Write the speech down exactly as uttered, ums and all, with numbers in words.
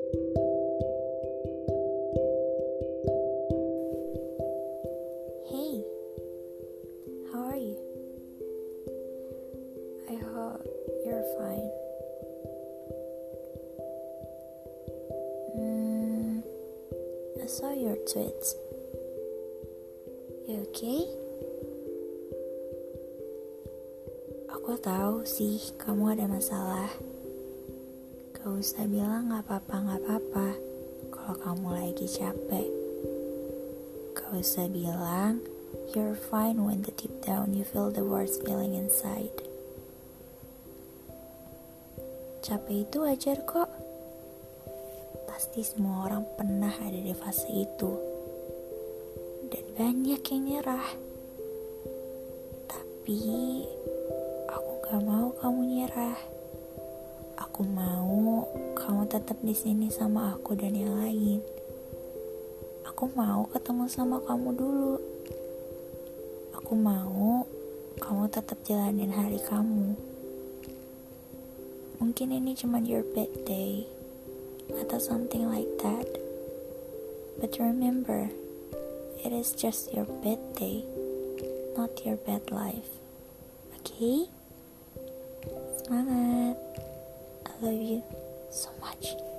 Hey, how are you? I hope you're fine. Hmm, I saw your tweets. You okay? Aku tahu sih kamu ada masalah. Gak usah bilang gak apa-apa, gak apa-apa kalau kamu lagi capek. Gak usah bilang you're fine when the deep down you feel the worst feeling inside. Capek itu wajar kok. Pasti semua orang pernah ada di fase itu. Dan banyak yang nyerah. Tapi aku gak mau kamu nyerah. Aku mau kamu tetap di sini sama aku dan yang lain. Aku mau ketemu sama kamu dulu. Aku mau kamu tetap jalanin hari kamu. Mungkin ini cuma your bad day atau something like that. But remember, it is just your bad day, not your bad life. Okay? Semangat. I love you so much.